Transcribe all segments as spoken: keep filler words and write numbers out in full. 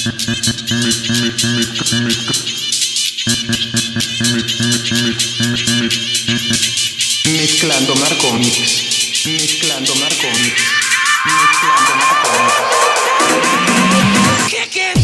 Mezclando Marco Mix. Mezclando Marco Mix. Mezclando Marco Mix. Kick it.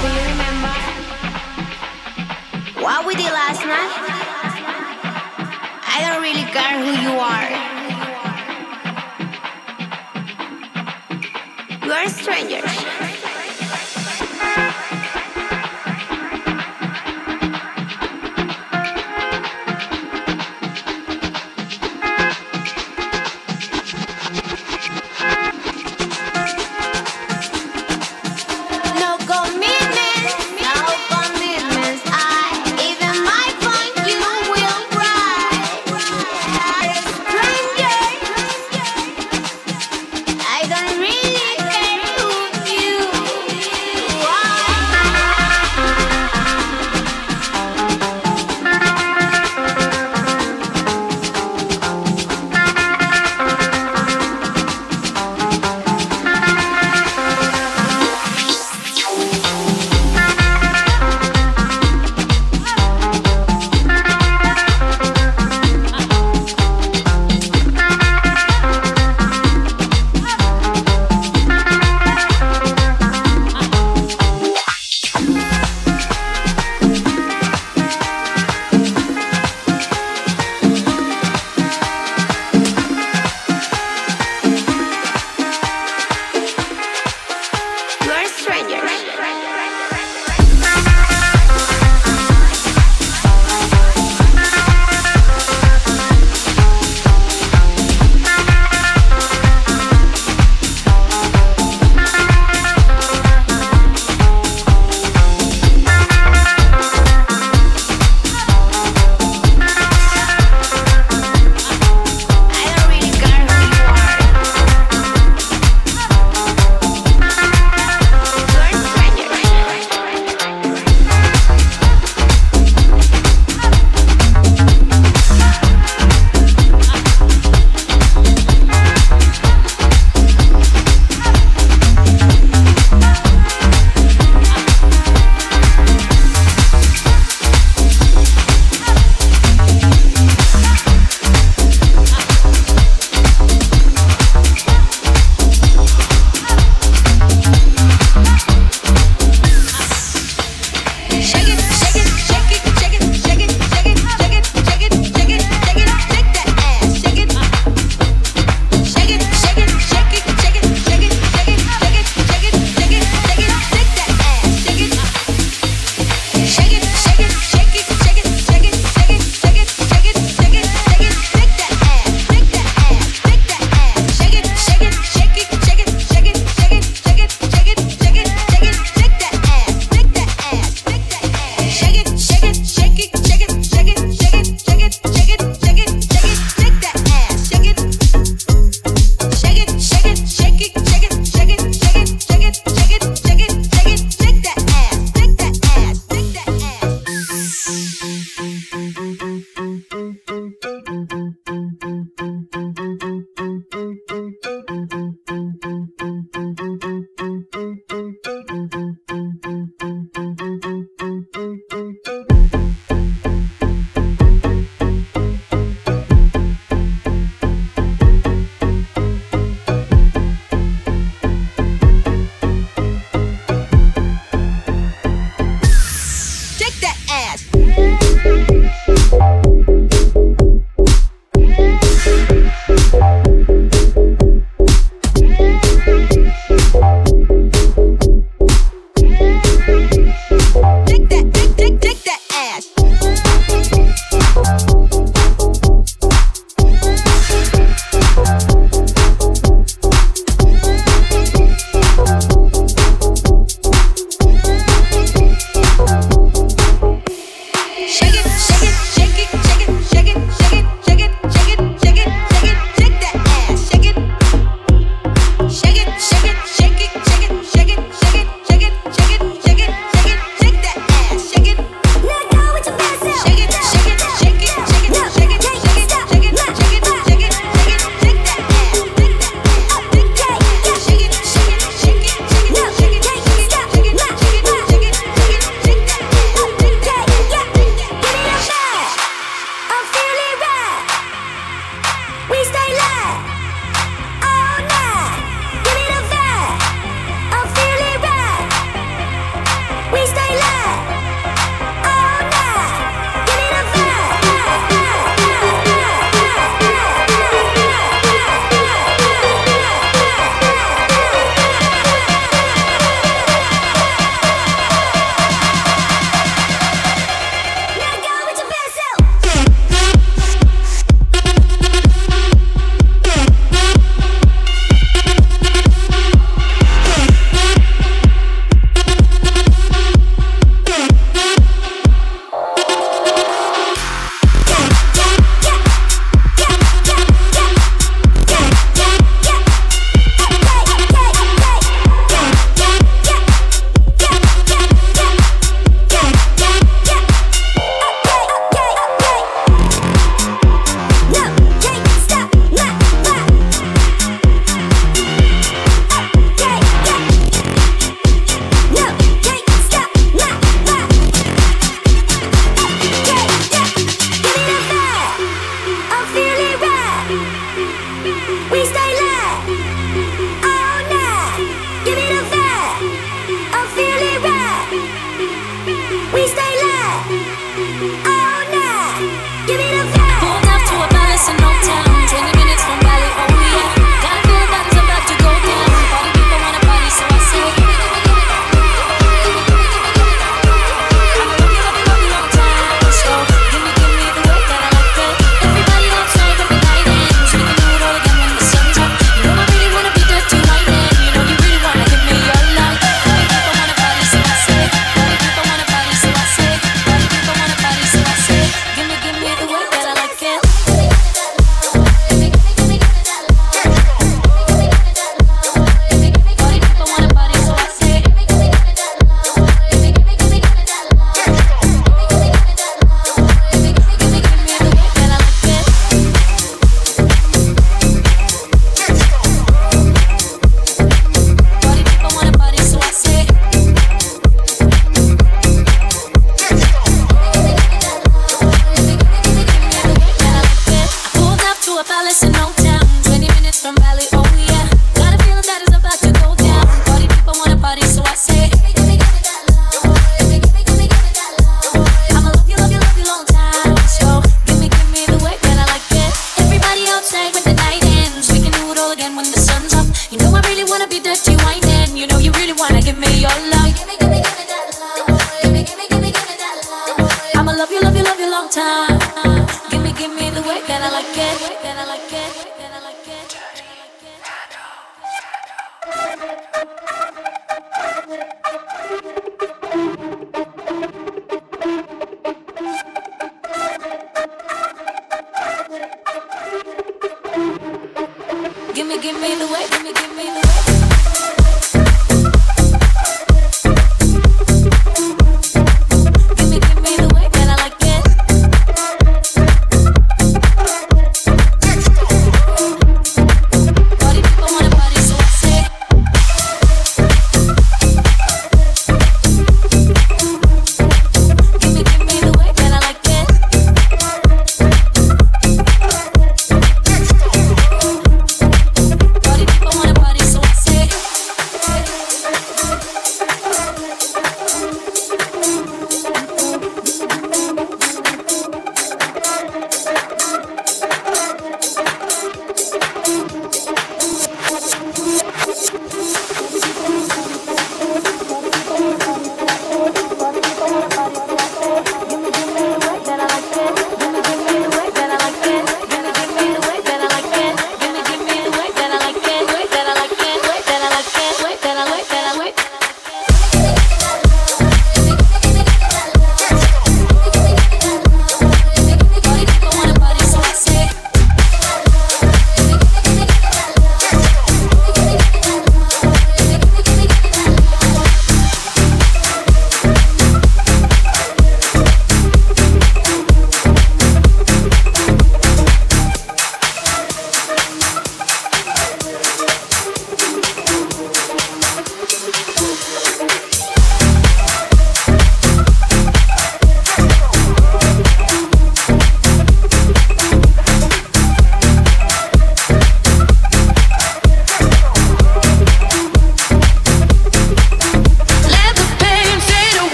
Do you remember what we did last night? I don't really care who you are. You are strangers. I don't really care who you time. Give me, give me the way that I like it, that I like it, that I like it. Give me, give me the way, give me, give me the way.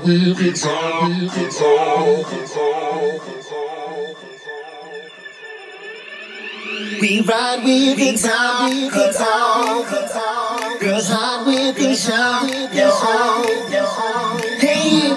with it, ride with it, all. We ride with it, ride with it, all. Girls hide with it, shout with it, all. Hey,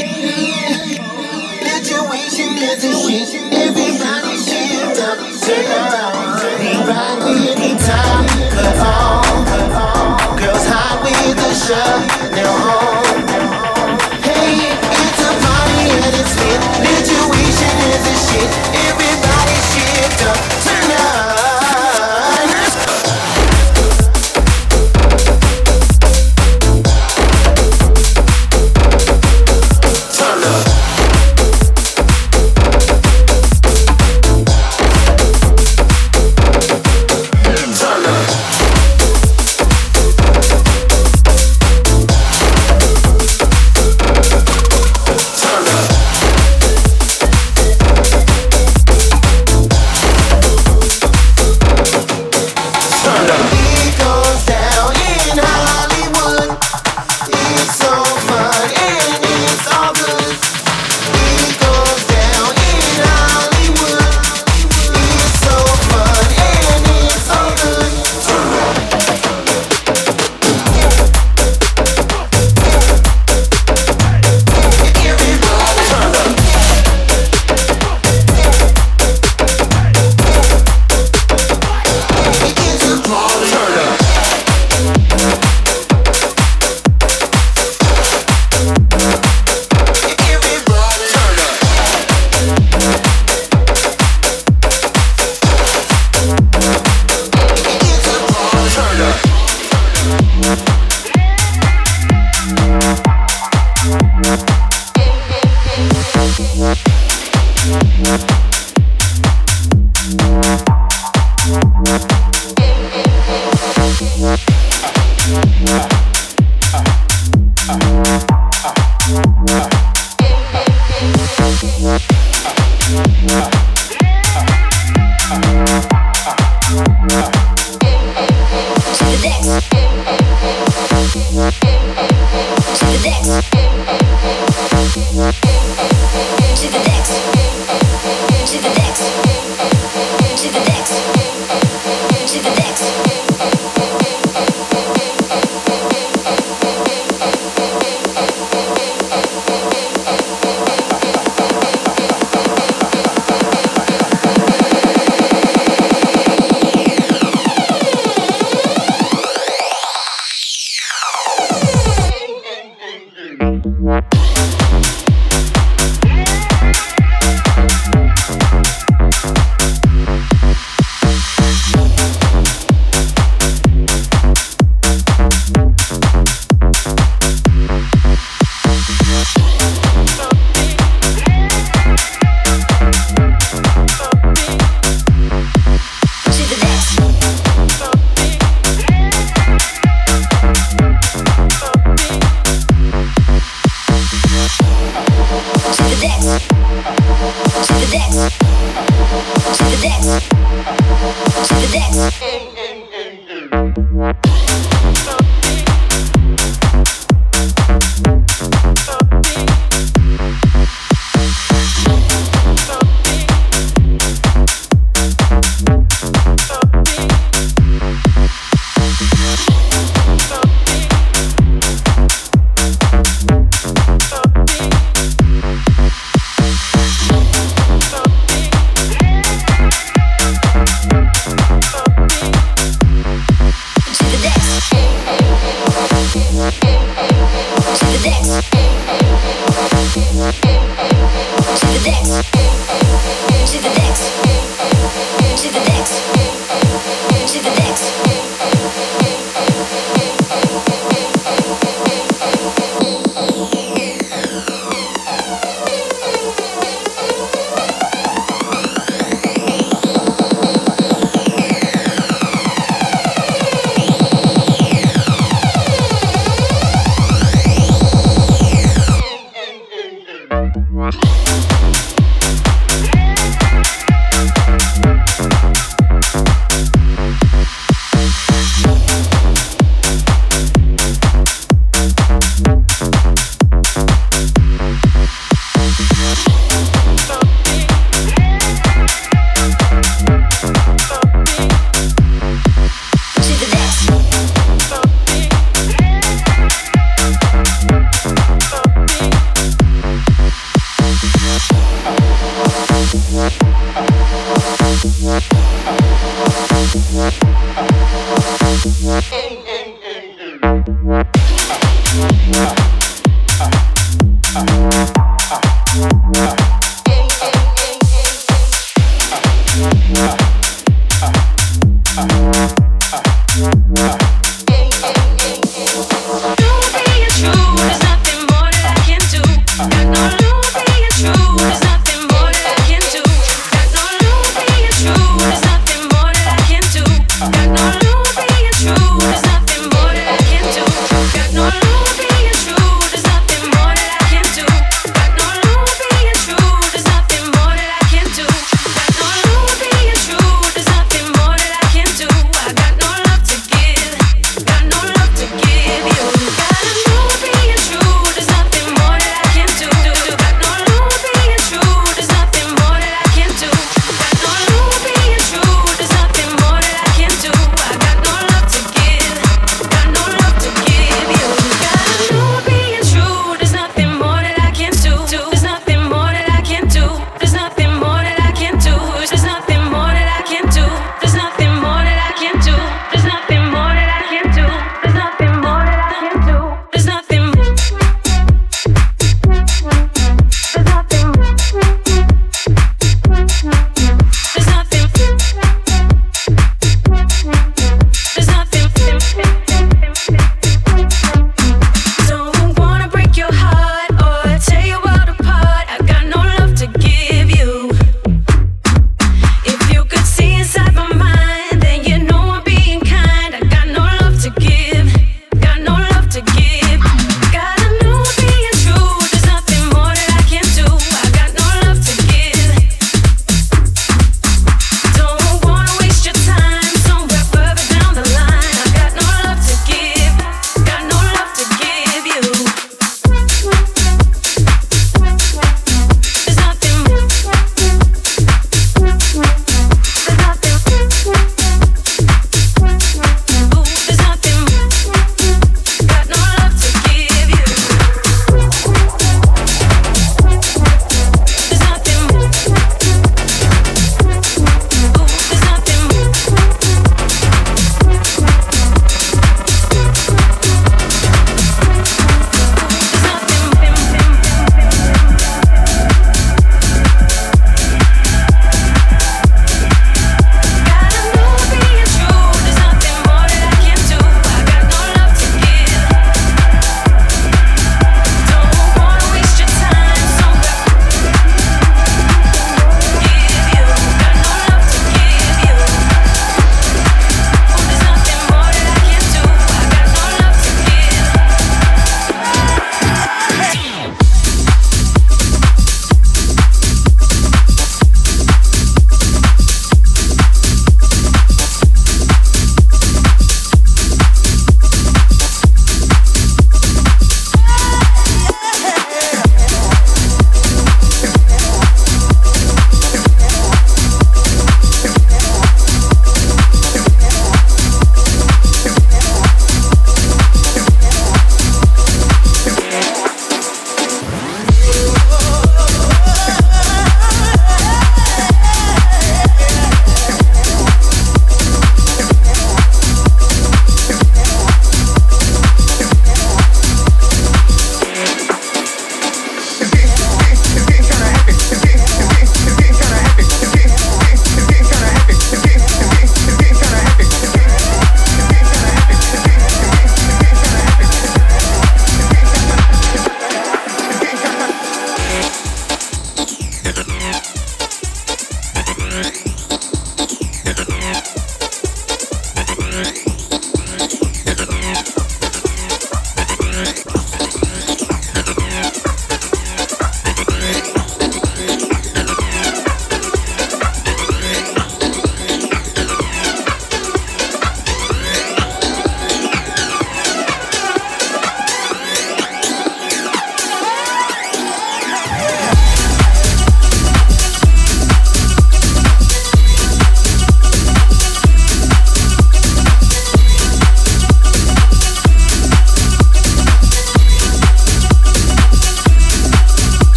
situation is a shit. Everybody shift up, turn up. We ride with it, time, cut off. Girls hide with the shirt, they're home. Hey, it's a party and it's lit. Situation is a shit. Everybody shift up, turn up.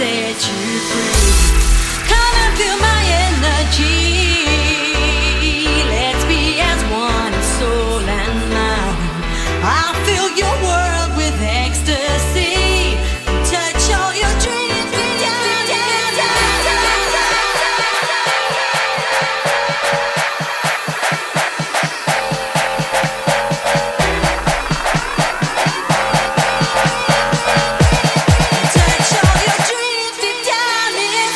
set you free. Come and feel my energy. Let's be as one in soul and mind. I'll fill your world with ecstasy. Touch all your dreams down, down, down, down, touch all your dreams deep down in.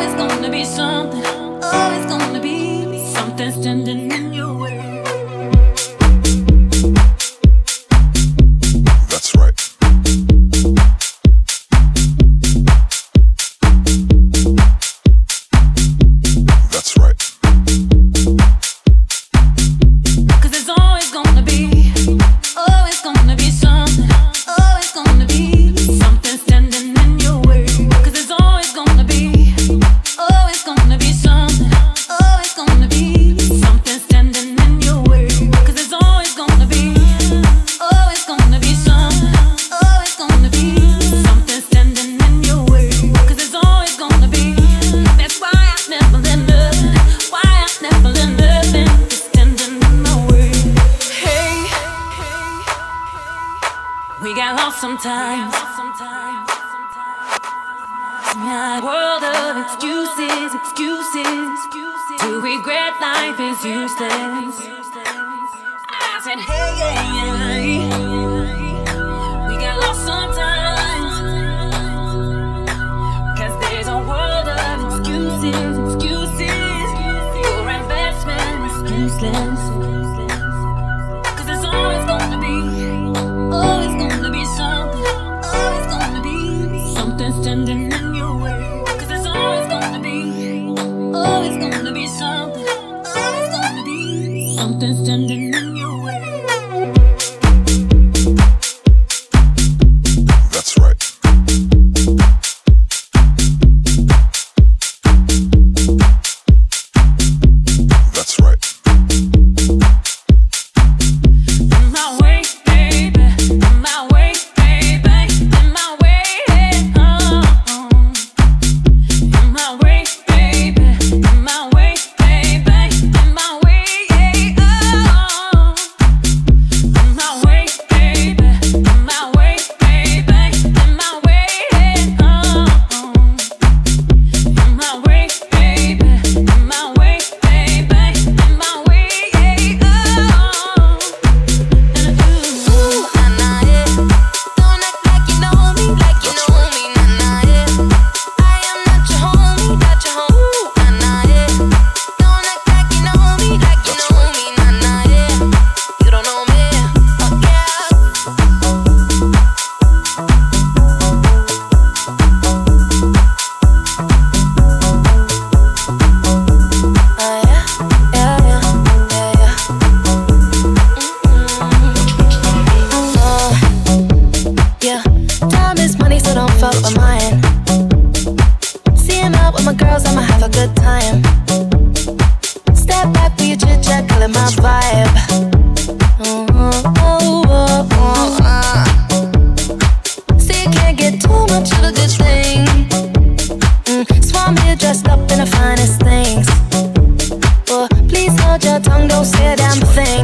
always gonna be something, always gonna be something standing in your way. That's right. That's right. Cause there's always gonna be, always gonna be something, always gonna be something standing in your way. Cause there's always gonna be, always gonna be something, always gonna be something standing in your way. Cause there's always gonna be, always gonna be something, always gonna be something standing in your way. Cause there's always gonna be, that's why I never let nothing, why I never let nothing standing in my way. Hey, we got lost sometimes. Yeah, world of excuses, excuses. To regret life is useless. I said, hey, hey, hey. We got lost sometimes. Cause there's a world of excuses, excuses. Your investment is useless. Cause there's always gonna be, always gonna be something, always gonna be something standing in your way. Cause there's always gonna be, always gonna be something, always gonna be something standing in your way. That's right. That's right. In my way, baby, in my way, baby, in my way, oh. In my way, baby, in my way, baby, in my way, oh. In my way, baby, in my way, baby, in my way, oh. In my way, baby, in my way, baby, in my way, oh. Ooh, nah, nah, yeah. Don't act like you know me, like you know me, nah, nah, yeah. I am not your homie, not your homie. Ooh, nah, nah, yeah. Don't act like you know me, like you know me, nah, nah, yeah. You don't know me, oh yeah. Oh yeah, yeah, yeah, yeah, yeah. Oh, yeah. Time is money, so don't fuck with mine. Seeing out with my girls, I'ma have a good time. Step back for your chit chat, call it my vibe. Oh, oh, oh, oh, uh. See, you can't get too much of a good thing. Mm, so I'm here dressed up in the finest things. Well, please hold your tongue, don't say a damn thing.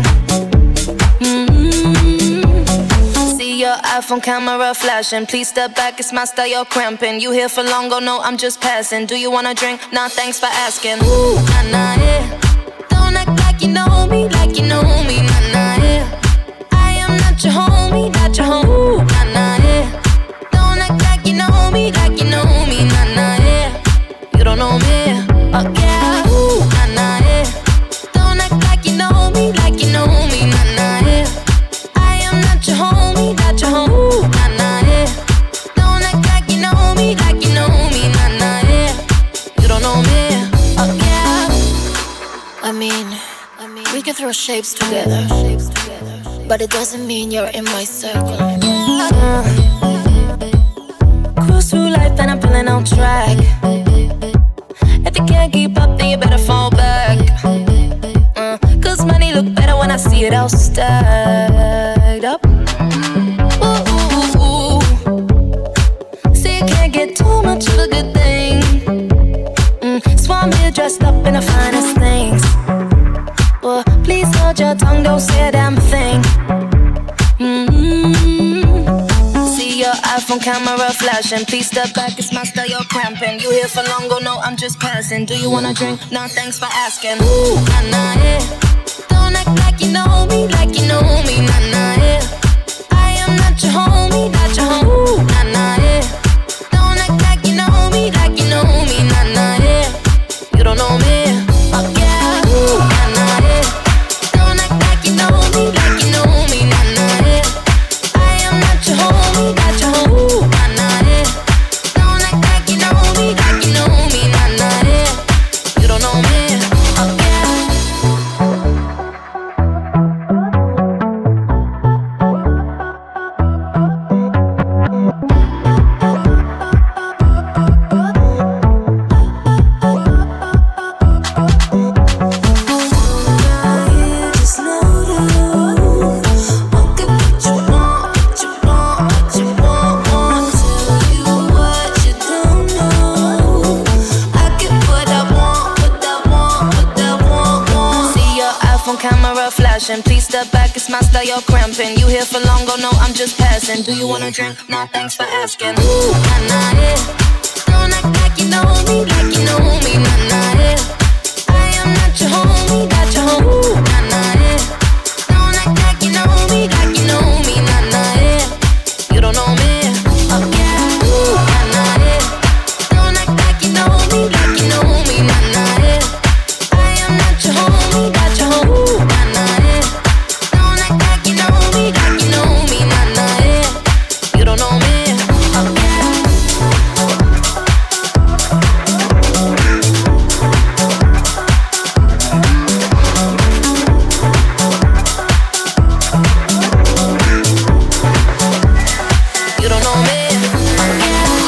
Mm-hmm. See your iPhone camera flashing. Please step back, it's my style, you're cramping. You here for long, go no, I'm just passing. Do you wanna drink? Nah, thanks for asking. Ooh, nah, nah, yeah. Don't act like you know me, like you know me, nah, nah, yeah. I am not your homie, not your homie. Ooh, nah, nah, yeah. Don't act like you know me, like you know me, nah, nah, yeah. You don't know me, oh yeah. Ooh, nah, nah, yeah. Don't act like you know me, like you know me, nah, nah, yeah. I am not your homie, not your homie. Ooh, nah, nah, yeah. Don't act like you know me, like you know me, nah, nah, yeah. You don't know me, oh yeah. I mean, I mean, we can throw shapes together, but it doesn't mean you're in my circle. Uh, cruise through life and I'm feeling on track. If you can't keep up, then you better fall back. Uh, Cause money look better when I see it all stacked up. Ooh, ooh, ooh. See, you can't get too much of a good thing. Mm, so I'm here dressed up in the finest things. Well, please hold your tongue, don't say a damn thing. Mm-hmm. See your iPhone camera flashing. Please step back, it's my style, you're cramping. You here for long, go no, I'm just passing. Do you wanna drink? Nah, thanks for asking. Ooh, nah, nah, yeah. Don't act like you know me, like you know me, nah, nah, yeah. I am not your homie, not your homie. Ooh, nah, nah, yeah. Don't act like you know me, like you know me, nah, nah, yeah. camera flashing. Please step back, it's my style, you're cramping. You here for long, go no, I'm just passing. Do you wanna drink? No, thanks for asking. Ooh, nah, nah, yeah. Don't act like you know me, like you know me, nah, nah, yeah. I am not your homie, not your homie. Ooh, nah, nah, yeah. Don't act like you know me, like you know me, nah, nah, yeah. You don't know me, oh yeah. Ooh, nah, nah, yeah. Don't act like you know me, like you know me, nah, nah, yeah. I am not your homie, not your homie. Ooh, nah, nah, yeah. Don't act like you know me, like you know me, nah, nah, yeah. You don't know me, oh yeah. You don't know me, oh yeah.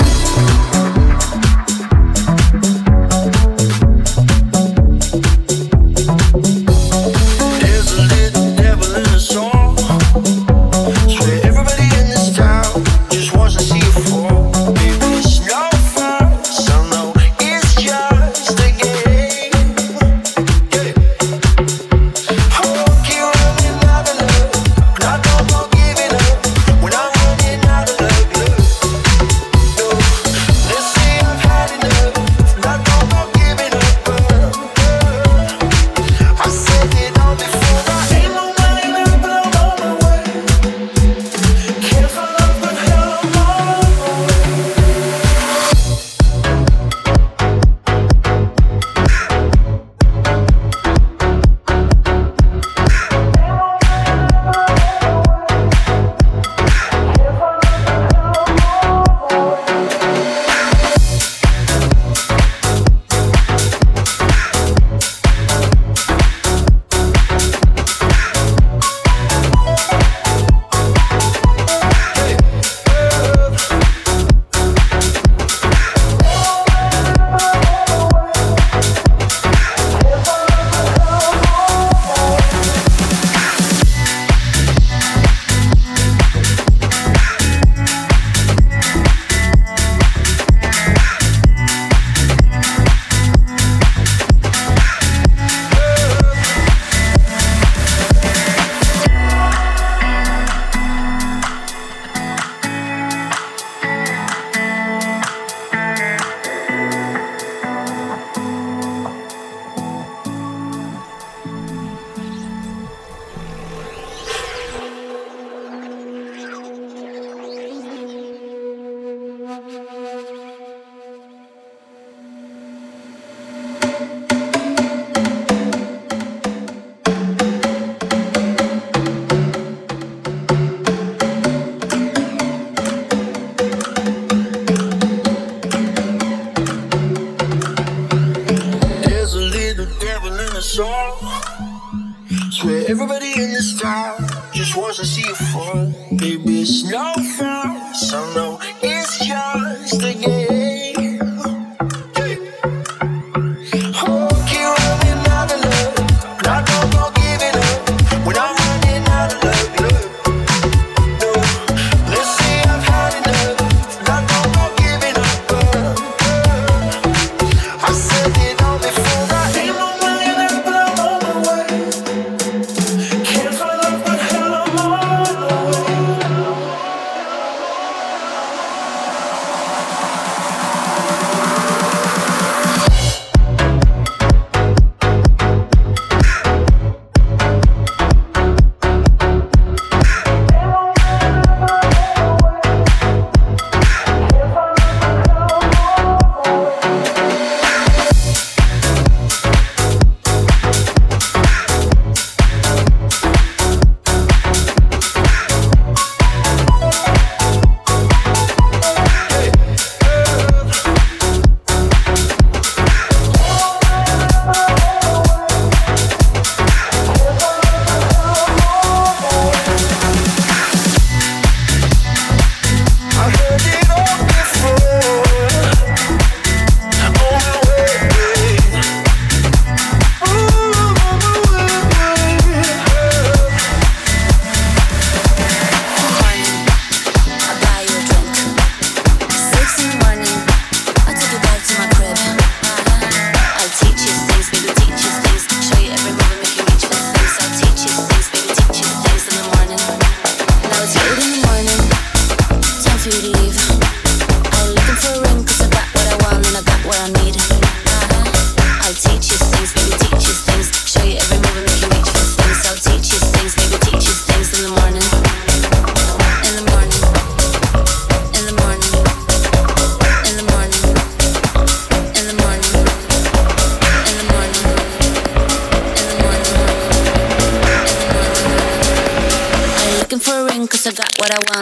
There's a little devil in a song. Swear everybody in this town just wants to see you fall. Baby, it's no fun, so no, it's just a game. Yeah. Oh, keep running out of love, but I don't go giving up when I'm running out of love. No, let's say I've had enough, but I don't go giving up. I said it all before, I ain't no money left, but I'm on my way. Can't find love, but hell, I'm on my way. There's a little devil in a song. Swear everybody in this town just wants to see you fall. Baby, it's no fun, so no, it's just a game. Yeah. Oh, keep running out of love, but I don't go giving up when I'm running out of love. No, let's say I've had enough, but I don't go giving up. I said it all before, I ain't no money left, but I'm on my way. Can't find love, but hell, I'm on my way.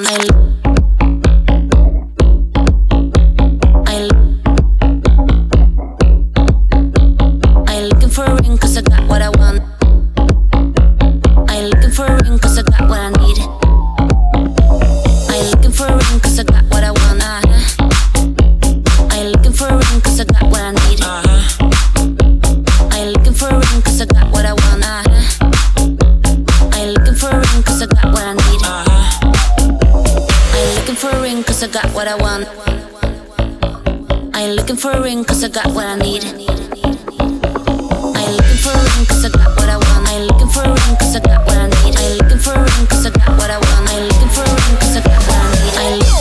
want. I what I want. I ain't looking for a ring cause I got what I need. I ain't looking for a ring cause I got what I want. I ain't looking for a ring cause I got what I need. I ain't looking for a ring cause I got what I want. I ain't looking for a ring cause I got what I need. I ain't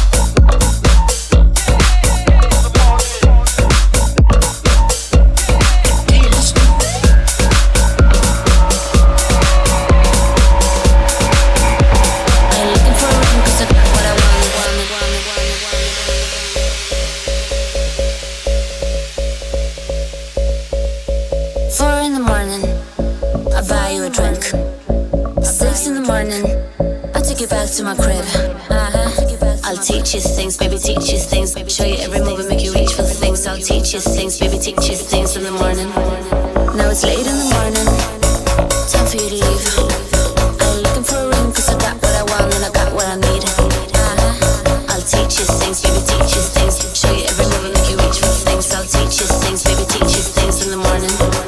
to my crib. Uh-huh. I'll teach you things, baby, teach you things. Show you every move and make you reach for the things. I'll teach you things, baby, teach you things in the morning. Now it's late in the morning, time for you to leave. I ain't looking for a ring cause I got what I want and I got what I need. Uh-huh. I'll teach you things, baby, teach you things. Show you every move and make you reach for the things. I'll teach you things, baby, teach you things in the morning.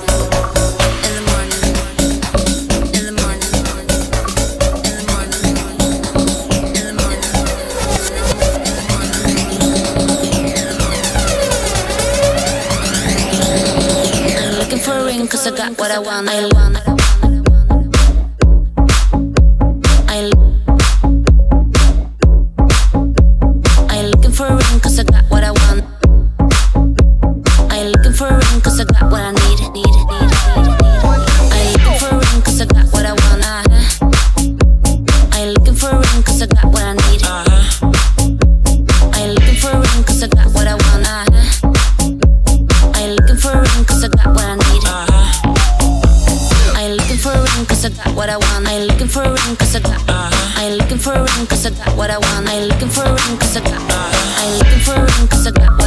Cause I got what I want, I want. I ain't looking for a ring cause I got what I want. I ain't looking for a ring cause I got what I need. Need, need, need, need. I ain't looking for a ring cause I got what I want. Uh-huh. I ain't looking for a ring cause I got what I need. Uh-huh. I ain't looking for a ring cause I got what I want. Uh-huh. I ain't looking for a ring cause I got what I need. Cause I got what I want. I ain't looking for a ring cause I got. Uh-huh. I ain't looking for a ring cause I got what I want. I ain't looking for a ring cause I got. Uh-huh. I ain't looking for a ring cause I got what